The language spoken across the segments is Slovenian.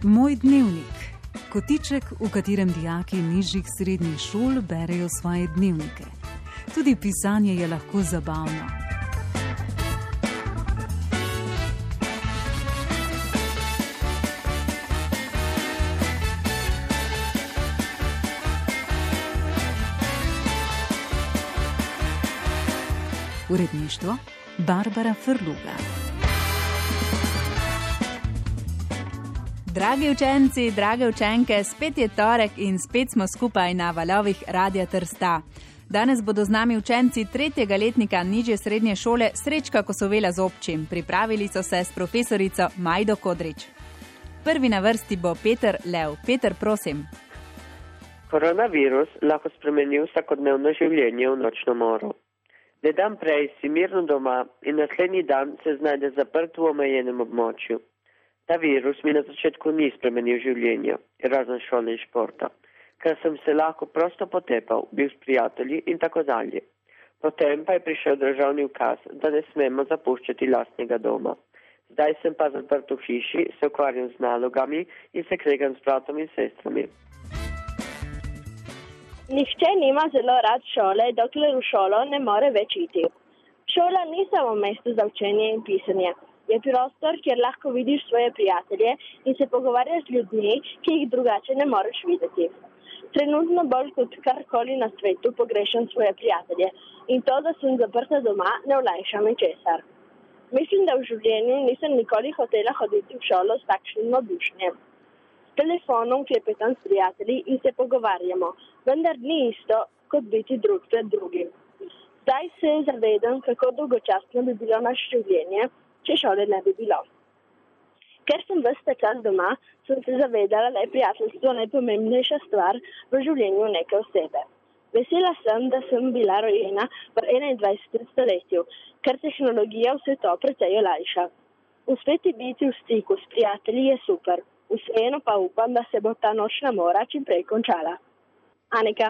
Moj dnevnik. Kotiček, v katerem dijaki nižjih srednjih šol berejo svoje dnevnike. Tudi pisanje je lahko zabavno. Uredništvo Barbara Frluga. Dragi učenci, drage učenke, spet je torek in spet smo skupaj na valovih Radia Trsta. Danes bodo z nami učenci 3. letnika nižje srednje šole Srečka Kosovela z občim. Pripravili so se s profesorico Majdo Kodrič. Prvi na vrsti bo Peter Lev. Peter, prosim. Koronavirus lahko spremeni vsakodnevno življenje v nočno moro. Le dan prej si mirno doma in naslednji dan se znajde zaprt v omejenem območju. Ta virus mi na začetku ni spremenil življenja, razen šole in športa, ker sem se lahko prosto potepal, bil s prijatelji in tako dalje. Potem pa je prišel državni ukaz, da ne smemo zapuščati lastnega doma. Zdaj sem pa zaprt v hiši, se ukvarjam z nalogami in se kregam s bratom in sestrami. Nihče nima zelo rad šole, dokler v šolo ne more več iti. Šola ni samo mesto za učenje in pisanje. Je prostor, kjer lahko vidiš svoje prijatelje in se pogovarjaš z ljudmi, ki jih drugače ne moreš videti. Trenutno bolj kot karkoli na svetu pogrešam svoje prijatelje in to, da sem zaprta doma, ne olajša mi česar. Mislim, da v življenju nisem nikoli hotela hoditi v šolo s takšnim navdušenjem. S telefonom klepetam s prijatelji in se pogovarjamo, vendar ni isto, kot biti drug pred drugim. Zdaj se zavedam, kako dolgočasno bi bilo naše življenje, če šole ne bi bilo. Ker sem ves ta čas doma, sem se zavedala, da je prijateljstvo najpomembnejša stvar v življenju neke osebe. Vesela sem, da sem bila rojena v 21. stoletju, ker tehnologija vse to precej olajša. Uspeti biti v stiku s prijatelji je super, vseeno pa upam, da se bo ta nočna mora čim prej končala. Anika.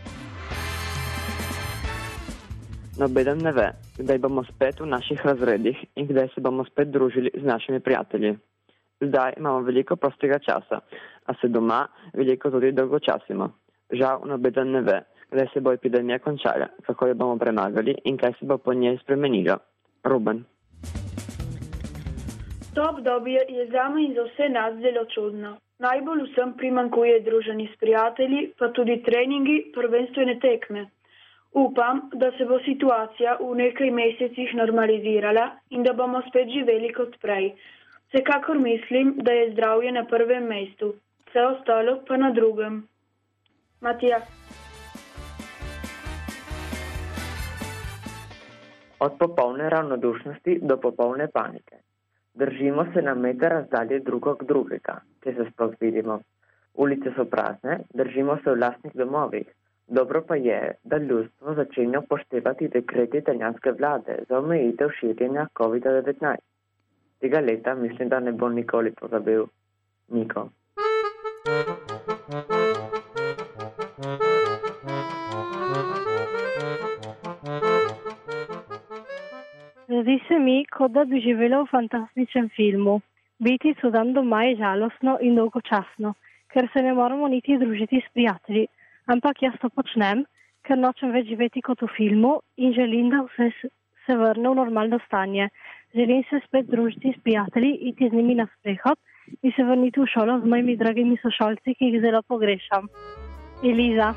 Nobeden ne ve, kdaj bomo spet v naših razredih in kdaj se bomo spet družili z našimi prijatelji. Zdaj imamo veliko prostega časa, a se doma veliko tudi dolgočasimo. Žal nobeden ne ve, kdaj se bo epidemija končala, kako jo bomo premagali in kaj se bo po njej spremenilo. Ruben. To obdobje je zame in za vse nas zelo čudno. Najbolj vsem primanjkuje druženje s prijatelji, pa tudi treningi, prvenstvene tekme. Upam, da se bo situacija v nekaj mesecih normalizirala in da bomo spet živeli kot prej. Vsekakor mislim, da je zdravje na prvem mestu, vse ostalo pa na drugem. Matija. Od popolne ravnodušnosti do popolne panike. Držimo se na meter razdalje drugo od drugega, če se sploh vidimo. Ulice so prazne, držimo se v lastnih domovih. Dobro pa je, da ljudstvo začenja upoštevati dekrete italijanske vlade za omejitev širjenja COVID-19. Tega leta mislim, da ne bo nikoli pozabil. Niko. Zdi se mi, kot da bi živela v fantastičnem filmu. Biti so dan doma je žalostno in dolgočasno, ker se ne moramo niti družiti s prijatelji. Ampak jaz to počnem, ker nočem več živeti kot v filmu in želim, da vse se vrne v normalno stanje. Želim se spet družiti s prijatelji, iti z njimi na sprehod in se vrniti v šolo z mojimi dragimi sošolci, ki jih zelo pogrešam. Eliza.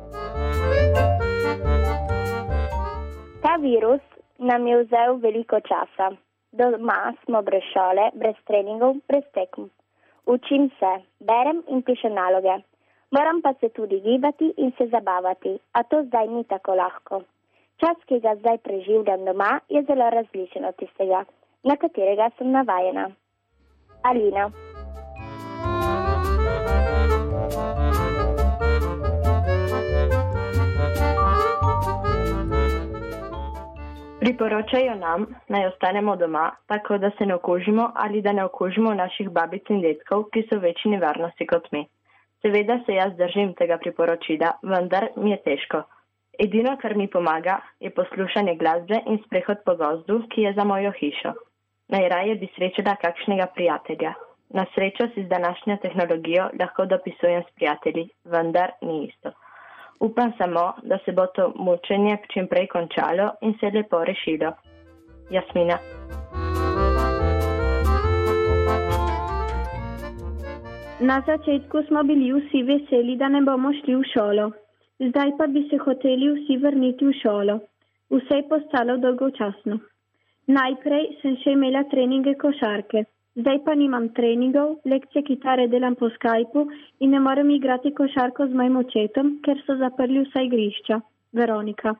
Ta virus nam je vzel veliko časa. Doma smo brez šole, brez treningov, brez tekem. Učim se, berem in pišem naloge. Moram pa se tudi gibati in se zabavati, a to zdaj ni tako lahko. Čas, ki ga zdaj preživljam doma, je zelo različen od tistega, na katerega sem navajena. Alina. Priporočajo nam, naj ostanemo doma, tako da se ne okužimo ali da ne okužimo naših babic in dedkov, ki so v večji nevarnosti kot mi. Seveda se jaz držim tega priporočila, vendar mi je težko. Edino, kar mi pomaga, je poslušanje glasbe in sprehod po gozdu, ki je za mojo hišo. Najraje bi srečala kakšnega prijatelja. Na srečo si z današnjo tehnologijo lahko dopisujem s prijatelji, vendar ni isto. Upam samo, da se bo to mučenje čim prej končalo in se lepo rešilo. Jasmina. Na začetku smo bili vsi veseli, da ne bomo šli v šolo. Zdaj pa bi se hoteli vsi vrniti v šolo. Vse je postalo dolgočasno. Najprej sem še imela treninge košarke. Zdaj pa nimam treningov, lekcije kitare delam po Skypu in ne morem igrati košarko z mojim očetom, ker so zaprli vsa igrišča. Veronika.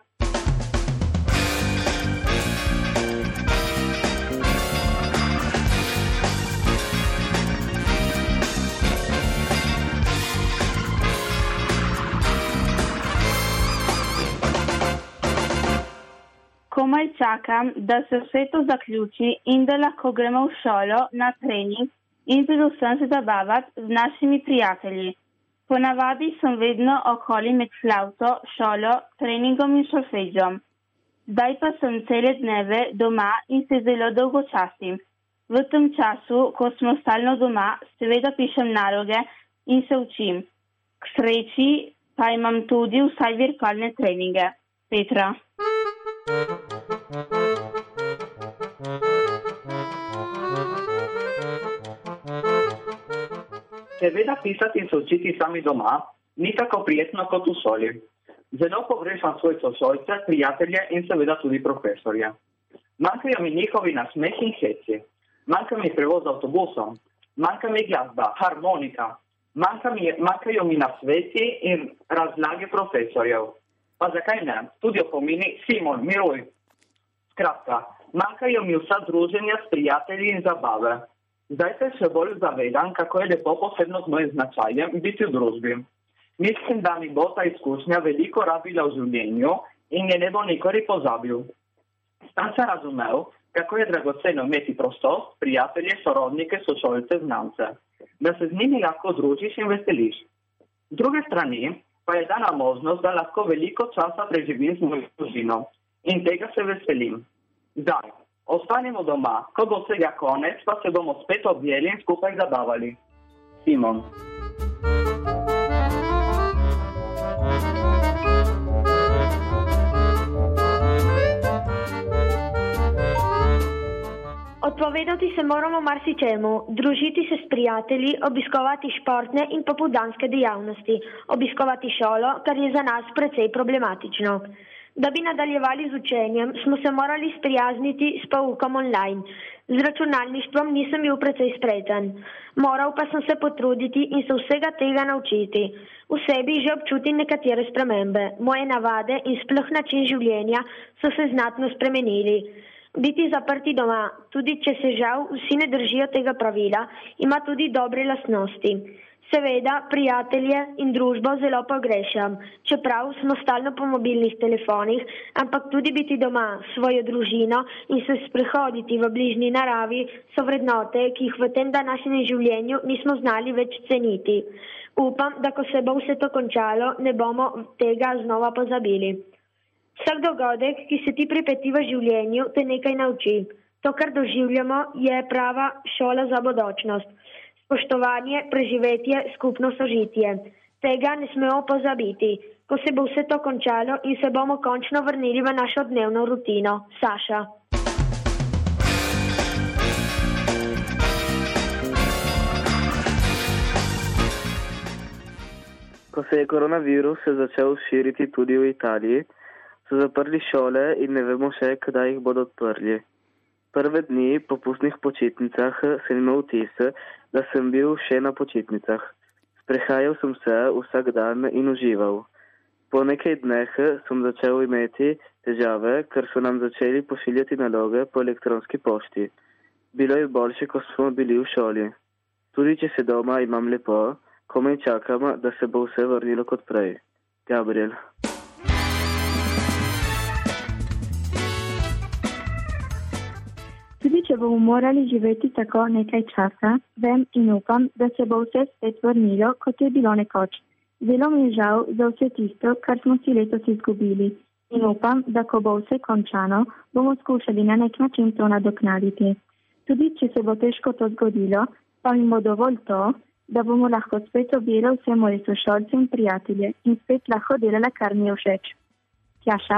Komaj čakam, da se vse to zaključi in da lahko gremo v šolo na trening in predvsem se zabavati z našimi prijatelji. Ponavadi sem vedno okoli med flavto, šolo, treningom in solfeđom. Zdaj pa sem cele dneve doma in se zelo dolgočasim. V tem času, ko smo stalno doma, seveda pišem naloge in se učim. K sreči pa imam tudi vsaj virtualne treninge. Petra. Seveda pisati in se učiti sami doma ni tako prijetno kot v šoli. Zelo pogrešam svoje sošolce, prijatelje in seveda tudi profesorje. Manjkajo mi njihovi nasmeh in heci. Manjka mi prevoz z avtobusom. Manjka mi glasba, harmonika. Manjkajo mi nasveti in razlage profesorjev. Pa zakaj ne? Tudi opomini Simon, miruj. Skratka, manjkajo mi vsa druženja s prijatelji in zabave. Zdaj se še bolj zavedam, kako je lepo posebno z mojim značajem biti v družbi. Mislim, da mi bo ta izkušnja veliko rabila v življenju in je ne bo nikoli pozabil. Sam sem razumel, kako je dragoceno imeti prostost, prijatelje, sorodnike, sošolce, znance. Da se z njimi lahko družiš in veseliš. Z druge strani pa je dana možnost, da lahko veliko časa preživim z mojo družino. In tega se veselim. Zdaj, ostanemo doma, ko bo vsega konec, pa se bomo spet objeli in skupaj zabavali. Simon. Odpovedati se moramo marsičemu, družiti se s prijatelji, obiskovati športne in popoldanske dejavnosti, obiskovati šolo, kar je za nas precej problematično. Da bi nadaljevali z učenjem, smo se morali sprijazniti s poukom online. Z računalništvom nisem bil precej spreten. Moral pa sem se potruditi in se vsega tega naučiti. V sebi že občutim nekatere spremembe. Moje navade in sploh način življenja so se znatno spremenili. Biti zaprti doma, tudi če se žal vsi ne držijo tega pravila, ima tudi dobre lastnosti. Seveda, prijatelje in družbo zelo pogrešam, čeprav smo stalno po mobilnih telefonih, ampak tudi biti doma s svojo družino in se sprehoditi v bližnji naravi so vrednote, ki jih v tem današnjem življenju nismo znali več ceniti. Upam, da ko se bo vse to končalo, ne bomo tega znova pozabili. Vsak dogodek, ki se ti pripeti v življenju, te nekaj nauči. To, kar doživljamo, je prava šola za bodočnost. Spoštovanje, preživetje, skupno sožitje. Tega ne smemo pozabiti. Ko se bo vse to končalo in se bomo končno vrnili v našo dnevno rutino. Saša. Ko se je koronavirus začel širiti tudi v Italiji, so zaprli šole in ne vemo še, kdaj jih bodo odprli. Prve dni po pustnih počitnicah sem imel vtis, da sem bil še na počitnicah. Sprehajal sem se vsak dan in užival. Po nekaj dneh sem začel imeti težave, ker so nam začeli pošiljati naloge po elektronski pošti. Bilo je boljše, ko smo bili v šoli. Tudi če se doma imam lepo, komaj čakam, da se bo vse vrnilo kot prej. Gabriel. Tudi če bomo morali živeti tako nekaj časa, vem in upam, da se bo vse spet vrnilo, kot je bilo nekoč. Zelo mi je žal za vse tisto, kar smo si letos izgubili. In upam, da ko bo vse končano, bomo skušali na nek način to nadoknaditi. Tudi če se bo težko to zgodilo, pa mi bo dovolj to, da bomo lahko spet objeli vse moje sošolce in prijatelje in spet lahko delala, kar mi je všeč. Tjaša.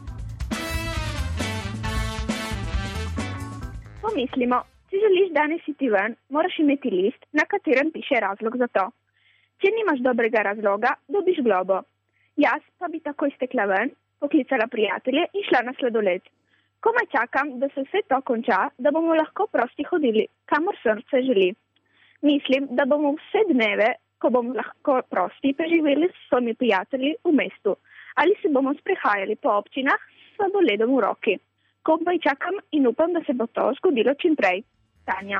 Pomislimo, če želiš danes iti ven, moraš imeti list, na katerem piše razlog za to. Če nimaš dobrega razloga, dobiš globo. Jaz pa bi takoj stekla ven, poklicala prijatelje in šla na sladoled. Komaj čakam, da se vse to konča, da bomo lahko prosti hodili, kamor srce želi. Mislim, da bomo vse dneve, ko bomo lahko prosti, preživeli s svojimi prijatelji v mestu. Ali se bomo sprehajali po občinah s sladoledom v roki. Komaj čakam in upam, da se bo to zgodilo čim prej. Tanja.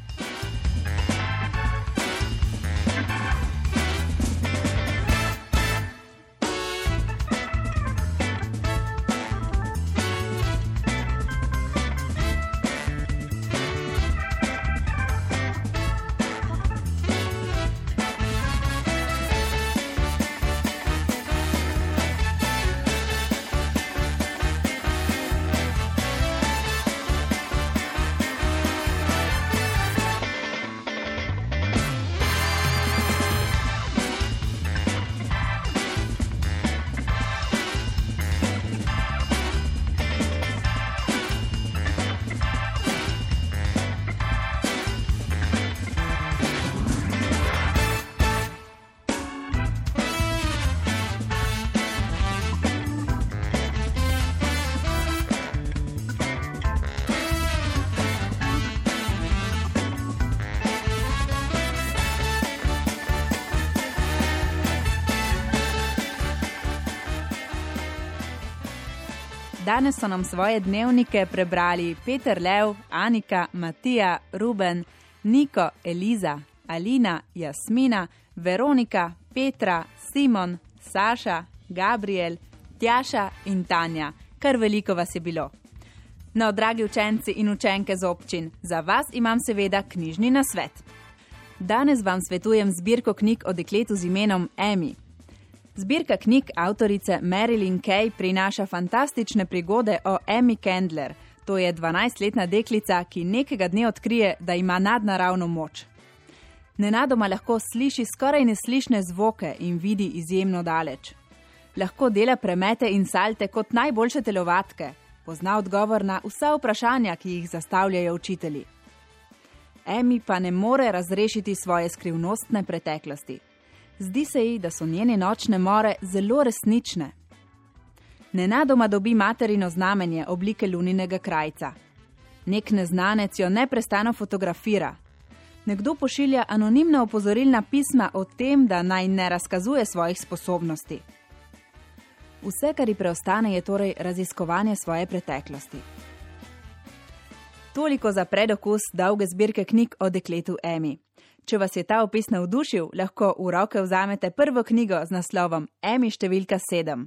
Danes so nam svoje dnevnike prebrali Peter Lev, Anika, Matija, Ruben, Niko, Eliza, Alina, Jasmina, Veronika, Petra, Simon, Saša, Gabriel, Tjaša in Tanja. Kar veliko vas je bilo. No, dragi učenci in učenke z občin, za vas imam seveda knjižni nasvet. Danes vam svetujem zbirko knjig o dekletu z imenom Amy. Zbirka knjig avtorice Marilyn Kay prinaša fantastične prigode o Amy Candler. To je 12-letna deklica, ki nekega dne odkrije, da ima nadnaravno moč. Nenadoma lahko sliši skoraj neslišne zvoke in vidi izjemno daleč. Lahko dela premete in salte kot najboljše telovadke. Pozna odgovor na vsa vprašanja, ki jih zastavljajo učitelji. Amy pa ne more razrešiti svoje skrivnostne preteklosti. Zdi se ji, da so njene nočne more zelo resnične. Nenadoma dobi materino znamenje oblike luninega krajca. Nek neznanec jo neprestano fotografira. Nekdo pošilja anonimna opozorilna pisma o tem, da naj ne razkazuje svojih sposobnosti. Vse, kar ji preostane, je torej raziskovanje svoje preteklosti. Toliko za predokus dolge zbirke knjig o dekletu Amy. Če vas je ta opis navdušil, lahko v roke vzamete prvo knjigo z naslovom Amy številka 7.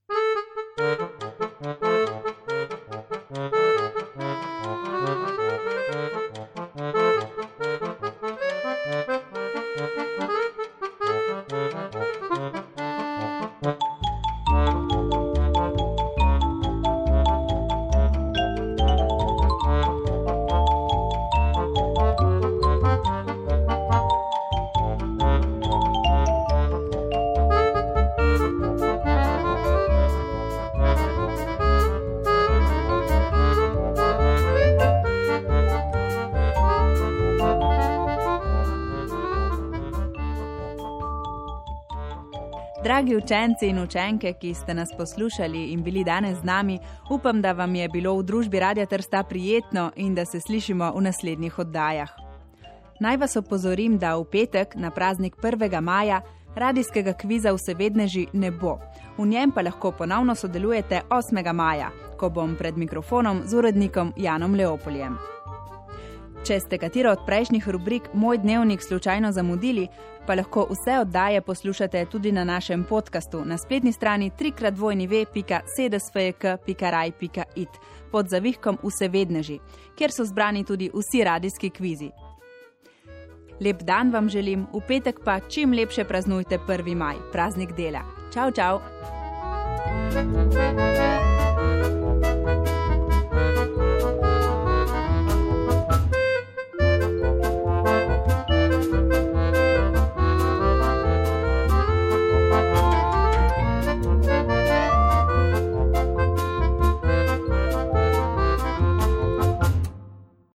Dragi učenci in učenke, ki ste nas poslušali in bili danes z nami, upam, da vam je bilo v družbi Radia Trsta prijetno in da se slišimo v naslednjih oddajah. Naj vas opozorim, da v petek na praznik 1. maja radijskega kviza Vsevedneži ne bo. V njem pa lahko ponovno sodelujete 8. maja, ko bom pred mikrofonom z urednikom Janom Leopoljem. Če ste katero od prejšnjih rubrik Moj dnevnik slučajno zamudili, pa lahko vse oddaje poslušate tudi na našem podcastu na spletni strani www.sedesfjk.raj.it pod zavihkom Vsevedneži, kjer so zbrani tudi vsi radijski kvizi. Lep dan vam želim, v petek pa čim lepše praznujte 1. maj, praznik dela. Čau, čau!